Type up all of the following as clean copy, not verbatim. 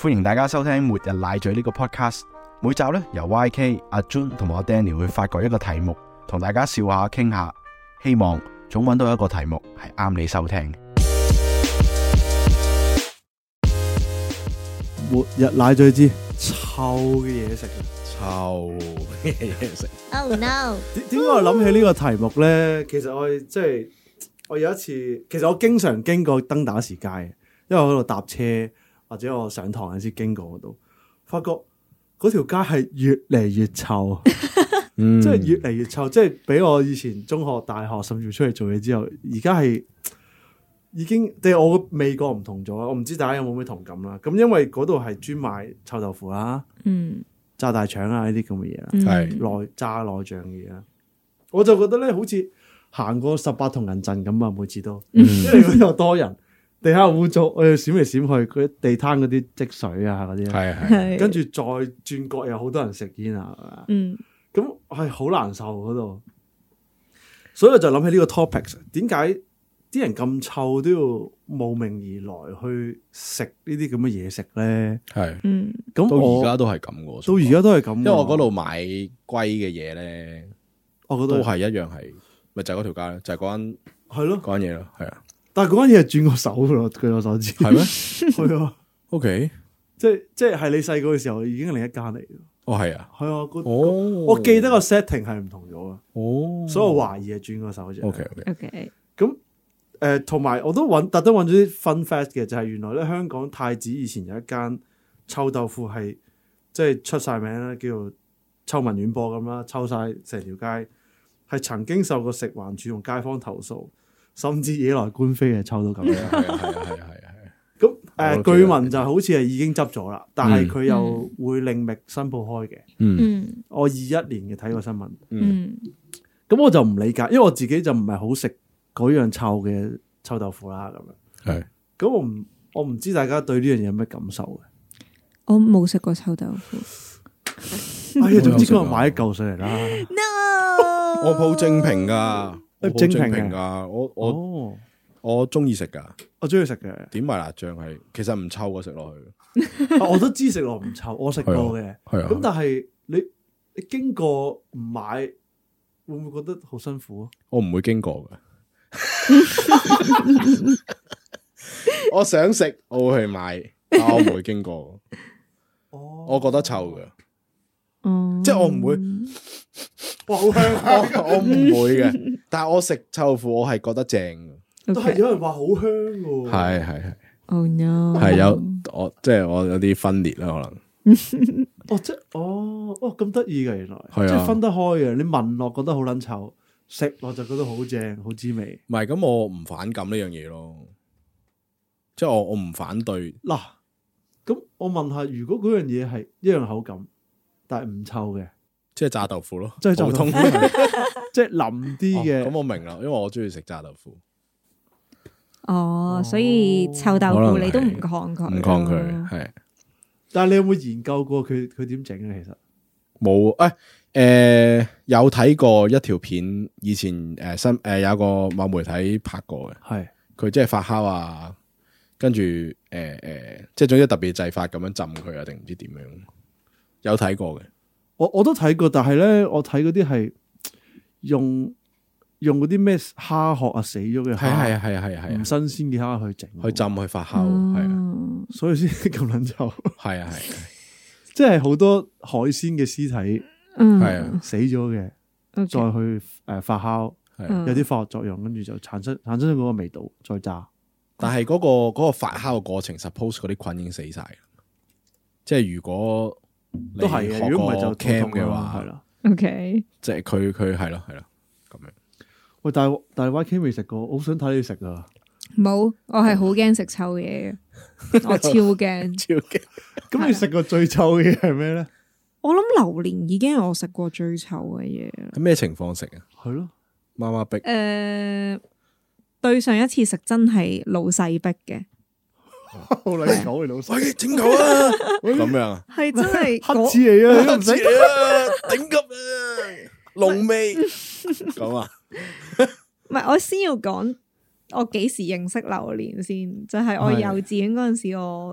歡迎大家收聽末日奶嘴呢個 podcast。每集咧由 YK、阿 Jun 同埋我 Danny 會發掘一個題目，同大家笑下、傾下，希望總揾到一個題目係啱你收聽。 末日奶嘴之臭嘅嘢食， 臭嘅嘢食。 Oh no！ 點解我諗起呢個題目咧？其實我有一次，其實我經常經過登打士街，因為我喺度搭車或者我上堂嗰時經過嗰度，發覺嗰條街係越嚟越臭，即係越嚟越臭，即係比我以前中學、大學甚至出嚟做嘢之後，而家係已經對我個味覺唔同咗。我唔知大家有冇咩同感啦。咁因為嗰度係專賣臭豆腐啦，炸大腸啊呢啲咁嘅嘢啦，係炸內臟嘅嘢啦，我就覺得咧好似行過18銅人陣咁啊！每次都，因為嗰度有多人，地下污糟，我要閃嚟閃去，嗰啲地攤嗰啲積水啊嗰啲，係跟住再轉角有好多人食煙啊，咁係好難受嗰度，所以我就諗起呢個 topic， 點解啲人咁臭都要慕名而來去食呢啲咁嘅嘢食咧？係，咁到而家都係咁嘅， 到而家都係咁，因為我嗰度買龜嘅嘢咧，我覺得都係一樣係。咪就係嗰條街咯，就係嗰間係咯，嗰間嘢咯，係啊。但係嗰間嘢係轉過手噶咯，據我所知。係咩？係啊。OK，即係你細個嘅時候已經係另一間嚟。哦，係啊。係啊。我記得個 setting 係唔同咗啊。哦。所以我懷疑係轉過手啫。OK。咁同埋我都特登揾咗啲 fun fact 嘅，就係原來咧香港太子以前有一間臭豆腐係即係出晒名啦，叫做臭聞遠播咁啦，臭晒成條街。係曾經受過食環署同街坊投訴，甚至惹來官非嘅，臭到咁樣。係。咁據聞就好似係已經執咗啦，但係佢又會另覓新鋪開嘅。我21年嘅睇過新聞。咁我就唔理解，因為我自己就唔係好食嗰樣臭嘅臭豆腐啦。咁樣。係。咁我唔知大家對呢樣嘢有咩感受嘅？ 我冇食過臭豆腐。 哎呀，總之今日買一嚿上嚟啦。 我鋪正評噶，正評噶，我中意食噶，我中意食嘅。點埋辣醬係，其實唔臭嘅食落去。 我都知食落唔臭，我食過嘅。係啊。咁但係你經過唔買，會唔會覺得好辛苦啊？ 我唔會經過嘅。我想食，我會去買，但我唔會經過。我覺得臭嘅。即係我唔會，哇好香！我唔會嘅，但係我食臭豆腐，我係覺得正嘅。 都係有人話好香嘅。係。 Oh no！ 係即係我有啲分裂啦，可能。 咁得意嘅原來，即係分得開嘅。你聞落覺得好撚臭，食落就覺得好正，好滋味。 唔係咁，我唔反感呢樣嘢咯。即係我唔反對。嗱， 咁我問下，如果嗰樣嘢係一樣口感，但係唔臭嘅， 即係炸豆腐咯， 即係普通，即係腍啲嘅。 咁我明啦，因為我中意食炸豆腐。 所以臭豆腐你都唔抗拒， 唔抗拒係。 但係你有冇研究過佢點整咧？其實冇有睇過一條片，以前有個某媒體拍過嘅，係佢即係發酵啊，跟住即係總之特別製法咁樣浸佢啊，定唔知點樣？有睇過嘅，我都睇過，但係咧，我睇嗰啲係用嗰啲咩蝦殼啊，死咗嘅，係唔新鮮嘅蝦去整，去浸去發酵，係啊，所以先咁撚臭，係，即係好多海鮮嘅屍體，係啊，死咗嘅，再去發酵，有啲化學作用，跟住就產生咗嗰個味道，再炸。但係嗰個發酵嘅過程 ，suppose 嗰啲菌已經死晒，即係如果。都係嘅，如果唔係就 cam 嘅話，係啦。OK，即係佢係咯咁樣。喂，但係 YK 未食過，我好想睇你食啊！ 冇，我係好驚食臭嘢嘅，我超驚， 超驚。 咁你食過最臭嘅嘢係咩咧？ 我諗榴蓮已經係我食過最臭嘅嘢啦。 喺咩情況食啊？係咯，媽媽逼。 對上一次食真係老細逼嘅。 好撚狗嘅老細， 整狗啊！咁樣係真係黑字嚟啊！ 黑字嚟啊！頂級啊！濃味咁啊！ 唔係，我先要講我幾時認識榴蓮先，就係我幼稚園嗰陣時，我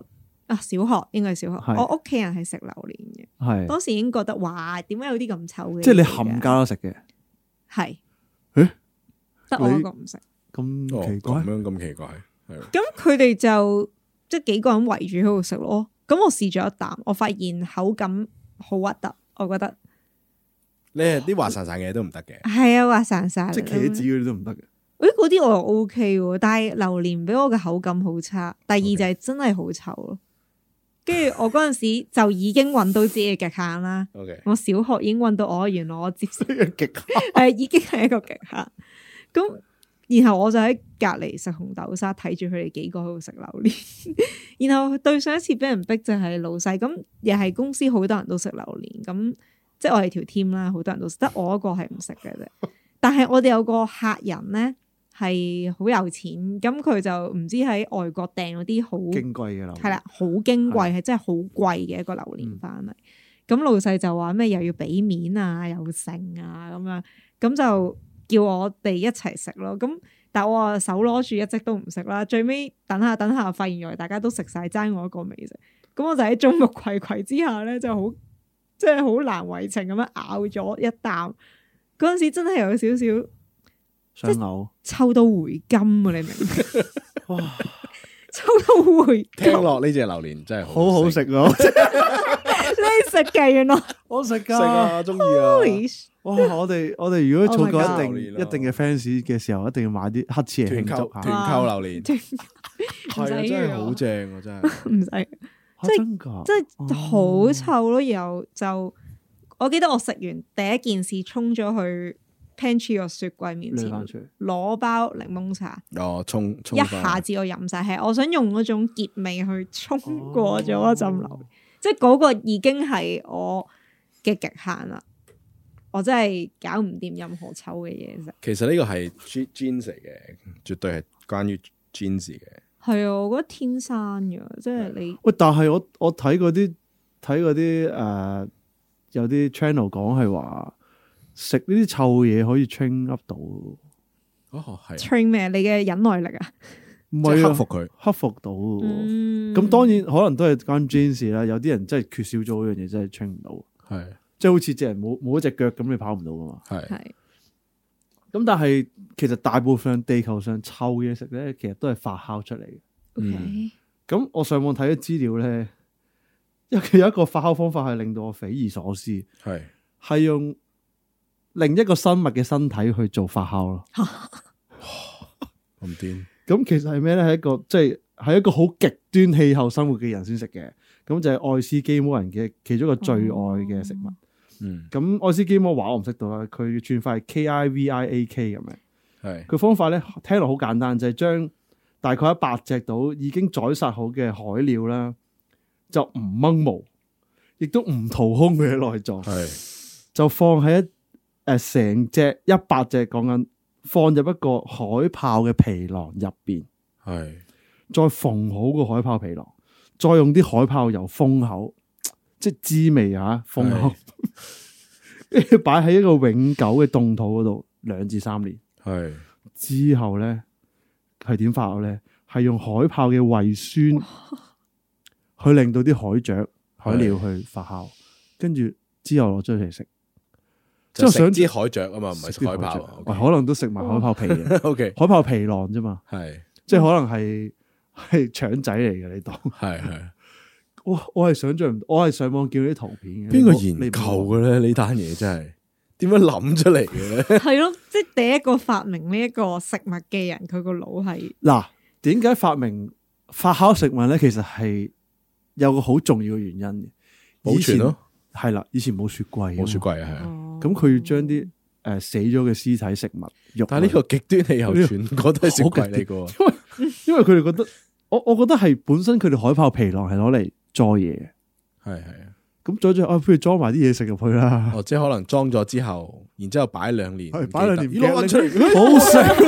啊，小學應該係小學，我屋企人係食榴蓮嘅，係當時已經覺得哇，點解有啲咁臭嘅？ 即係你冚家都食嘅， 係， 誒， 得我一個唔食， 咁奇怪， 咁奇怪，係。 咁佢哋就即係幾個人圍住喺度食咯。咁我試咗一啖，我發現口感好核突，我覺得。 你係啲滑潺潺嘅嘢都唔得嘅， 係啊，滑潺潺， 即係茄子嗰啲都唔得嘅。 誒，嗰啲我又 OK 喎，但係榴蓮俾我嘅口感好差。第二就係真係好臭咯。跟住我嗰陣時就已經揾到自己嘅極限啦。 Okay. 我小學已經揾到原來我接受嘅極限， 係已經係一個極限。咁然後我就喺隔離食紅豆沙，睇住佢哋幾個喺度食榴蓮。然後對上一次俾人逼就係老細，咁又係公司好多人都食榴蓮，咁即係我哋條 team 啦，好多人都食，得我一個係唔食嘅啫。但係我哋有個客人咧係好有錢，咁佢就唔知喺外國訂嗰啲好矜貴嘅榴蓮， 係啦，好矜貴，係真係好貴嘅一個榴蓮翻嚟。咁老細就話咩又要俾面啊，又剩啊咁樣，咁就叫我哋一齊食咯。咁但係我啊手攞住一直都唔食啦。最尾等下發現原來大家都食晒，爭我一個未食。咁我就喺眾目睽睽之下咧，就好即係好難為情咁樣咬咗一啖。嗰陣時真係有少少想嘔， 臭到回甘啊！你明唔明？哇，臭到回甘。 聽落呢隻榴蓮真係好好食啊！ 你食嘅原來我食噶， 食啊，中意啊！ 哇！我哋如果儲夠一定嘅 fans 嘅時候，一定要買啲黑刺嚟慶祝下。 團購榴蓮係啊，真係好正啊！真係唔使， 即係好臭咯。然後就我記得我食完第一件事衝咗去 pantry 個雪櫃面前攞包檸檬茶。 哦，沖一下子我飲晒，係我想用嗰種澀味去衝過咗一陣榴蓮，即係嗰個已經係我嘅極限啦。我真係搞唔掂任何臭嘅嘢食。 其實呢個係 genes 嚟嘅，絕對係關於 genes 嘅。 係啊，我覺得天生嘅，即係你。 喂，但係我睇嗰啲有啲 channel 講係話食呢啲臭嘢可以 train up 到。 哦，係。 train 咩？你嘅忍耐力啊？ 唔係克服佢， 克服到。咁當然可能都係關 genes 啦。有啲人真係缺少咗嗰樣嘢，真係 train 唔到。係。即係好似隻人冇一隻腳咁，你跑唔到噶嘛？係。咁但係其實大部分地球上臭嘢食咧，其實都係發酵出嚟嘅。咁我上網睇咗資料咧，因為佢有一個發酵方法係令到我匪夷所思，係用另一個生物嘅身體去做發酵咯。 咁癲！ 咁其實係咩咧？係一個好極端氣候生活嘅人先食嘅。咁就係愛斯基摩人嘅其中一個最愛嘅食物。咁愛斯基摩話我唔識到啦，佢串法係 KIVIAK 咁樣。佢方法咧聽落好簡單，就係將大概100隻到已經宰殺好嘅海鳥啦，就唔掹毛，亦都唔掏空佢嘅內臟，就放喺成隻100隻講緊放入一個海豹嘅皮囊入邊，再縫好個海豹皮囊，再用啲海豹油封口。即係滋味嚇，封口，跟住擺喺一個永久嘅凍土嗰度2至3年。之後咧係點發酵咧？係用海豹嘅胃酸去令到啲海雀、海鳥去發酵，跟住之後攞出嚟食。 即係想知海雀啊嘛，唔係食海豹。 可能都食埋海豹皮嘅。 OK， 海豹皮囊啫嘛。即係可能係腸仔嚟嘅呢度。我係想象唔到，我係上網見到啲圖片嘅。邊個研究嘅咧？呢單嘢真係點樣諗出嚟嘅咧？ 係咯，即係第一個發明呢一個食物嘅人，佢個腦係嗱，點解發明發酵食物咧？其實係有個好重要嘅原因嘅，保存咯。係啦，以前冇雪櫃， 冇雪櫃啊，係啊。 咁佢要將啲死咗嘅屍體食物肉， 但係呢個極端氣候全國都係雪櫃嚟嘅。 因為佢哋覺得，我覺得係本身佢哋海豹皮囊係攞嚟裝嘢，係咁裝咗，不如裝埋啲嘢食入去啦。 即係可能裝咗之後，然之後擺2年， 擺2年， 攞出嚟， 好食，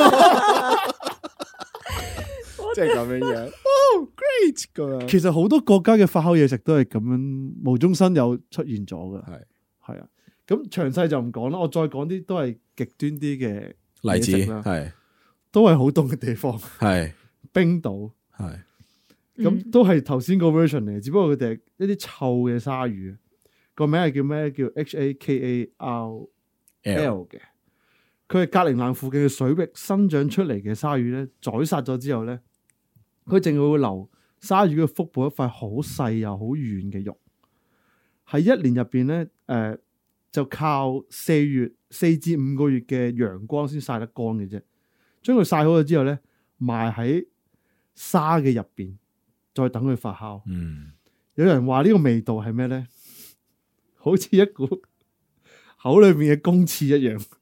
即係咁樣樣。Great 噶。 其實好多國家嘅發酵嘢食都係咁樣無中生有出現咗嘅，係啊。咁詳細就唔講啦，我再講啲都係極端啲嘅例子啦，都係好凍嘅地方，冰島， 咁都係頭先個 version 嚟，只不過佢哋係一啲臭嘅鯊魚，個名係叫咩？叫 HAKARL 嘅。佢係格陵蘭附近嘅水域生長出嚟嘅鯊魚咧，宰殺咗之後咧，佢淨係會留鯊魚嘅腹部一塊好細又好軟嘅肉。喺一年入邊咧，就靠4至5個月嘅陽光先曬得乾嘅啫。將佢曬好咗之後咧，埋喺沙嘅入邊，再等佢發酵。有人話呢個味道係咩咧？好似一股口裏面嘅公廁一樣。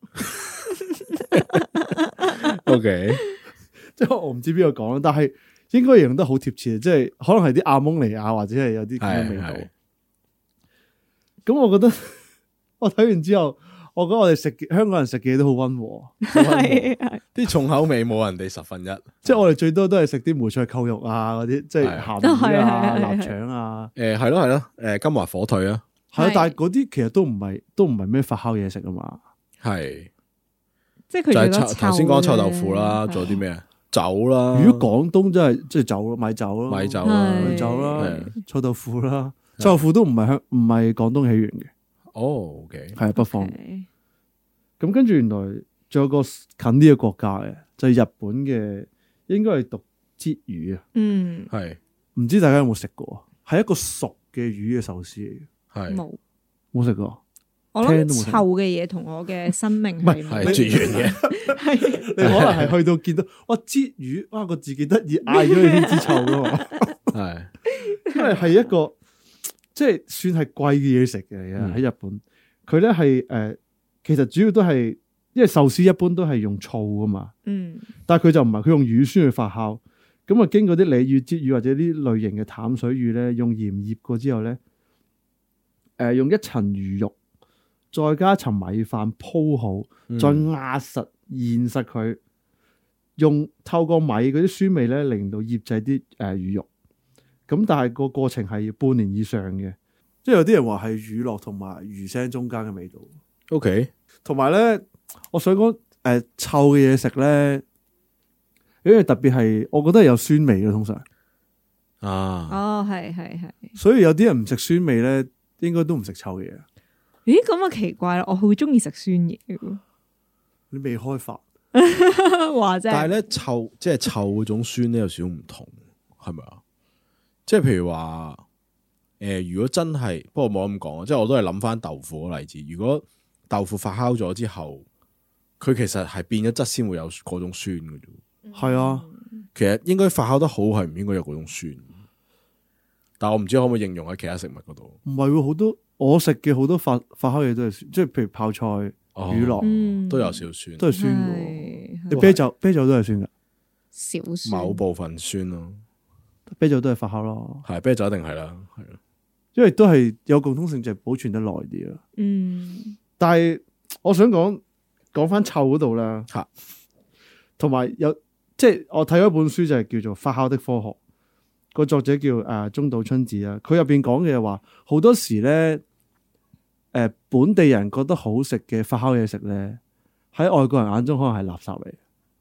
OK， 即係我唔知邊個講，但係應該形容得好貼切，即係可能係啲阿蒙尼亞或者係有啲咁嘅味道。咁我覺得我睇完之後，我覺得我哋香港人食嘅嘢都好溫和， 啲重口味冇人哋1/10， 即係我哋最多都係食啲梅菜扣肉啊，嗰啲即係鹹魚啊、臘腸啊。 係咯，金華火腿啊， 係啊，但係嗰啲其實都唔係咩發酵嘢食啊嘛。係， 即係佢就頭先講臭豆腐啦，仲有啲咩啊？酒啦， 如果廣東真係即係酒咯，米酒咯，米酒啦，臭豆腐啦，臭豆腐都唔係廣東起源嘅。 哦，OK， 係北方。咁跟住原來仲有個近啲嘅國家嘅，就係日本嘅，應該係讀鯽魚啊。係，唔知大家有冇食過？係一個熟嘅魚嘅壽司嚟嘅。係冇食過。 我諗臭嘅嘢同我嘅生命係絕緣嘅。 係你可能係去到見到哇鯽魚，哇個字幾得意，嗌咗你先知臭噶嘛。係，因為係一個即係算係貴嘅嘢食嘅喺日本。佢咧係其實主要都係因為壽司一般都係用醋噶嘛。但係佢就唔係，佢用乳酸去發酵。咁啊，經過啲鯉魚、鯽魚或者啲類型嘅淡水魚咧，用鹽醃過之後咧，用一層魚肉。再加一層米飯鋪好，再壓實現實佢，用透過米嗰啲酸味咧，令到醃製啲魚肉。咁但係個過程係要半年以上嘅，即係有啲人話係乳酪同埋魚腥中間嘅味道。OK， 同埋咧，我想講臭嘅嘢食咧，因為特別係我覺得係有酸味嘅通常。 哦，係， 所以有啲人唔食酸味咧，應該都唔食臭嘢。 咦，咁啊奇怪啦！我好中意食酸嘢嘅。 你未開發話啫。 但係咧臭，即係臭嗰種酸咧有少少唔同，係咪啊？即係譬如話，如果真係，不過冇咁講啊，即係我都係諗翻豆腐個例子。如果豆腐發酵咗之後，佢其實係變咗質先會有嗰種酸嘅啫。係啊，其實應該發酵得好係唔應該有嗰種酸。但係我唔知可唔可以應用喺其他食物嗰度。唔係喎，好多。我食嘅好多發酵嘢都係酸，即係譬如泡菜、乳酪都有少少酸， 都係酸嘅。你啤酒都係酸噶， 少酸， 某部分酸咯。 啤酒都係發酵咯，係啤酒一定係啦，係咯，因為都係有共通性，就係保存得耐啲咯。但係我想講翻臭嗰度啦，同埋有即係我睇咗一本書就係叫做《發酵的科學》，個作者叫中島春子啊。佢入邊講嘅話，好多時咧。本地人覺得好食嘅發酵嘢食咧，喺外國人眼中可能係垃圾嚟。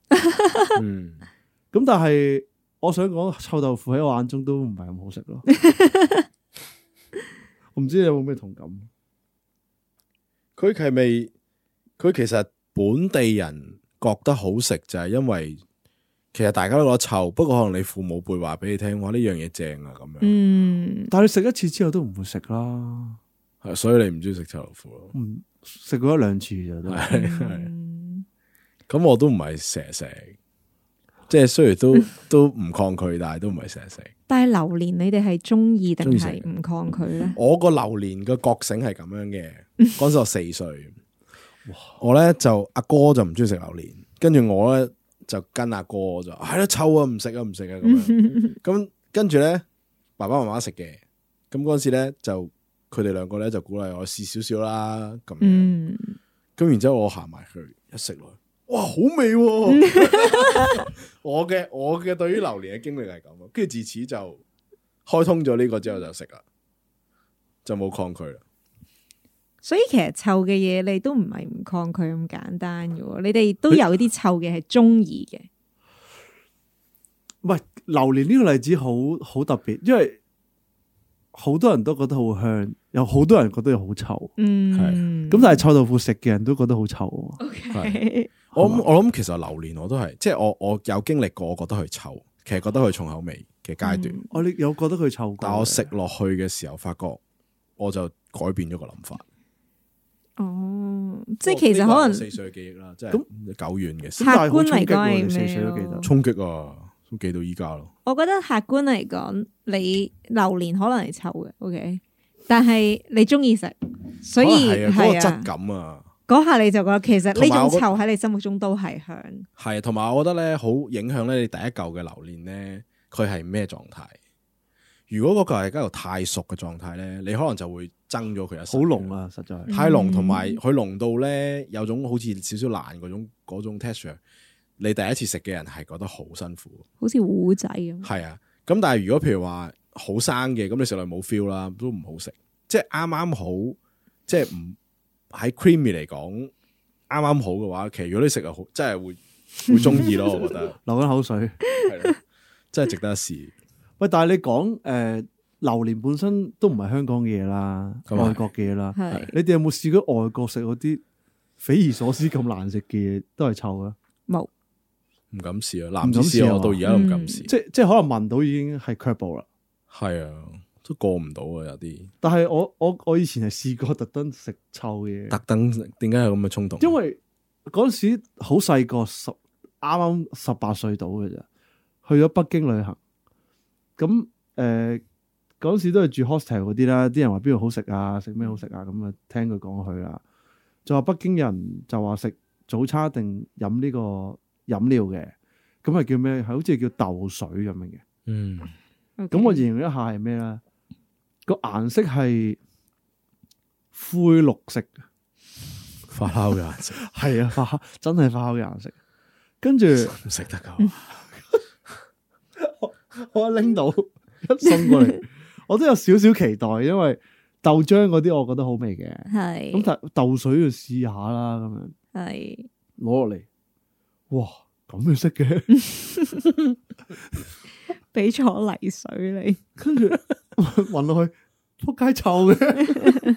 咁但係我想講臭豆腐喺我眼中都唔係咁好食咯。我唔知你有冇咩同感？ 佢係咪？佢其實本地人覺得好食就係因為其實大家都覺得臭，不過可能你父母輩話俾你聽，話呢樣嘢正啊咁樣。 但係你食一次之後都唔會食啦。 係，所以你唔中意食臭豆腐咯？ 食過1-2次就都係。 咁我都唔係成日食，即係雖然都唔抗拒，但係都唔係成日食。 但係榴蓮你哋係中意定係唔抗拒咧？ 我個榴蓮嘅覺醒係咁樣嘅，嗰時我4歲，我咧就阿哥就唔中意食榴蓮，跟住我咧就跟阿哥就係咯，臭啊，唔食啊咁樣。咁跟住咧爸爸媽媽食嘅，咁嗰時咧就。佢哋兩個咧就鼓勵我試少少啦，咁樣，咁然之後我行埋去一食落去，哇，好味！我嘅對於榴蓮嘅經歷係咁，跟住自此就開通咗呢個之後就食啦，就冇抗拒啦。 所以其實臭嘅嘢你都唔係唔抗拒咁簡單嘅，你哋都有啲臭嘅係中意嘅。 係榴蓮呢個例子好特別，因為好多人都覺得好香，有好多人覺得好臭。係咁，但係臭豆腐食嘅人都覺得好臭。 OK， 我諗其實榴蓮我都係，即係我有經歷過，我覺得佢臭，其實覺得佢重口味嘅階段。我你有覺得佢臭過？ 但我食落去嘅時候，發覺我就改變咗個諗法。 哦，即係其實可能 4歲嘅記憶啦，即係久遠嘅。 客觀嚟講係 4歲都記得衝擊啊，都記到依家咯。 我覺得客觀嚟講，你榴蓮可能係臭嘅，OK，但係你中意食，所以係啊， 嗰個質感啊， 嗰下你就覺得其實呢種臭喺你心目中都係香。 係，同埋我覺得咧，好影響咧你第一嚿嘅榴蓮咧，佢係咩狀態？如果嗰嚿係一嚿太熟嘅狀態咧，你可能就會憎咗佢一。 好濃啊，實在太濃，同埋佢濃到咧有種好似少少爛嗰種 texture。你第一次食嘅人係覺得好辛苦， 好似糊仔咁。 係啊，咁但係如果譬如話好生嘅，咁你食落冇 feel 啦，都唔好食。即係啱啱好，即係唔喺 creamy 嚟講啱啱好嘅話，其實如果你食又好，真係會中意咯。我覺得流緊口水， 係咯，真係值得一試。 喂，但係你講榴蓮本身都唔係香港嘅嘢啦，外國嘅嘢啦。你哋有冇試過外國食嗰啲匪夷所思咁難食嘅嘢，都係臭啊？冇， 唔敢試啊！男子試我到而家都唔敢試。即係可能聞到已經係卻步啦。 係啊，都過唔到啊，有啲。 但係我以前係試過特登食臭嘅嘢。 特登點解有咁嘅衝動？ 因為嗰陣時好細個，啱啱18歲到嘅咋，去咗北京旅行。咁嗰陣時都係住 hostel 嗰啲啦，啲人話邊度好食啊，食咩好食啊，咁啊聽佢講去啦。就話北京人就話食早餐定飲呢個飲料嘅，咁係叫咩？係好似叫豆水咁樣嘅。咁我形容一下係咩咧？個顏色係灰綠色， 發酵嘅顏色。 係啊，發酵真係發酵嘅顏色。跟住唔食得噶。 我拎到一送過嚟，我都有少少期待，因為豆漿嗰啲我覺得好味嘅，係咁但豆水要試下啦，咁樣係攞落嚟，哇咁樣識嘅， 俾咗泥水你， 跟住混落去，撲街臭嘅，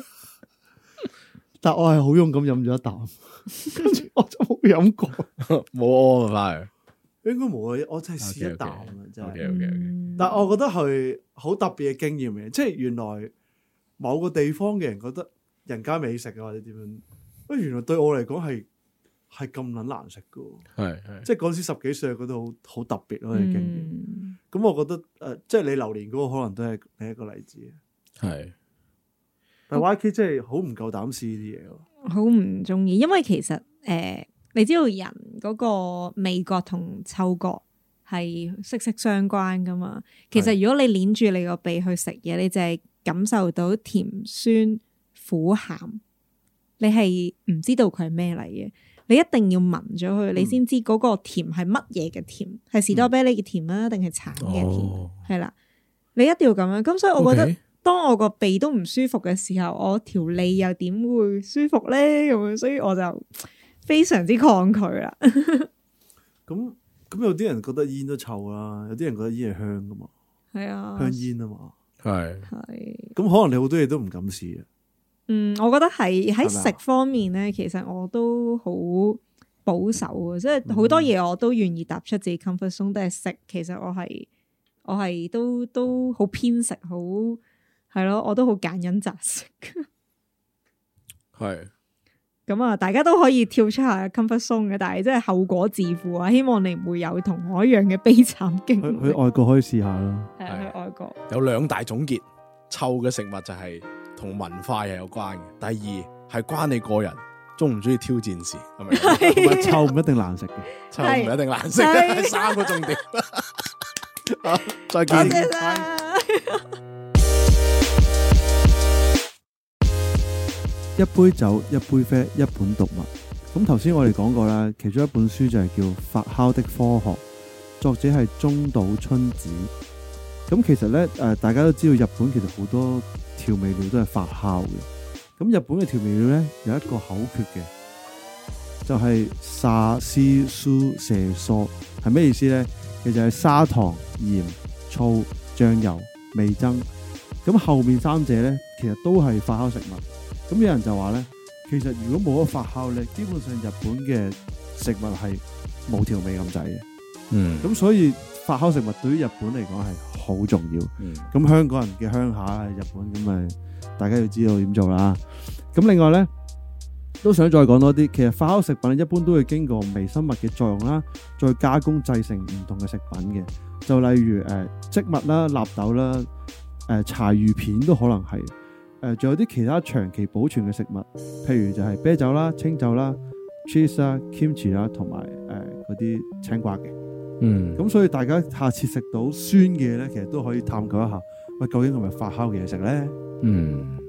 但我係好勇咁飲咗一啖，跟住我就冇飲過， 冇屙翻嚟。 應該冇啊！我真係試一啖啊，真係。 Okay. 但係我覺得係好特別嘅經驗嘅，即係原來某個地方嘅人覺得人間美食啊，或者點樣，原來對我嚟講係咁撚難食噶。係即係嗰時10幾歲覺得好特別咯嘅經驗。咁我覺得即係你榴蓮嗰個可能都係另一個例子。係，但係 YK 真係好唔夠膽試呢啲嘢咯， 好唔中意，因為其實你知道人嗰個味覺同嗅覺係息息相關噶嘛？其實如果你捏住你個鼻去食嘢，你就係感受到甜、酸、苦、鹹，你係唔知道佢係咩嚟嘅。你一定要聞咗佢，你先知嗰個甜係乜嘢嘅甜，係士多啤梨嘅甜啊，定係橙嘅甜？係啦，你一定要咁樣。咁所以我覺得，當我個鼻都唔舒服嘅時候，我條脷又點會舒服咧？咁樣，所以我就非常之抗拒啦。 咁有啲人覺得煙都臭啦，有啲人覺得煙係香噶嘛。係啊，香煙啊嘛。係。咁可能你好多嘢都唔敢試啊。 我覺得係喺食方面咧，其實我都好保守啊，即係好多嘢我都願意踏出自己 comfort zone，但係食其實我係都好偏食，好係咯，我都好揀飲擇食。係。咁啊，大家都可以跳出下 comfort zone 嘅，但係真係後果自負啊！希望你唔會有同我一樣嘅悲慘經歷。 去外國可以試下咯。 係啊，去外國有2大總結：臭嘅食物就係同文化係有關嘅；第二係關你個人中唔中意挑戰事，係咪？ 同埋臭唔一定難食嘅， 臭唔一定難食嘅，3個重點。好，再見。 一杯酒，一杯啡，一本讀物。咁頭先我哋講過啦，其中一本書就係叫《發酵的科學》，作者係中島春子。咁其實呢，大家都知道日本其實好多調味料都係發酵嘅。咁日本嘅調味料呢，有一個口訣嘅，就係沙西蘇蛇索，係咩意思呢？ 其實係砂糖、鹽、醋、醬油、味噌。咁後面三者咧，其實都係發酵食物。咁有人就話咧，其實如果冇咗發酵咧，基本上日本嘅食物係冇調味咁滯嘅。咁所以發酵食物對於日本嚟講係好重要。咁香港人嘅鄉下係日本，咁咪大家要知道點做啦。咁另外咧，都想再講多啲。其實發酵食品一般都會經過微生物嘅作用啦，再加工製成唔同嘅食品嘅。就例如穀物啦、納豆啦、柴魚片都可能係。仲有啲其他長期保存嘅食物，譬如就係啤酒啦、清酒啦、cheese 啦、kimchi 啦，同埋嗰啲青瓜嘅。咁所以大家下次食到酸嘅咧，其實都可以探究一下，喂，究竟係咪發酵嘅嘢食咧？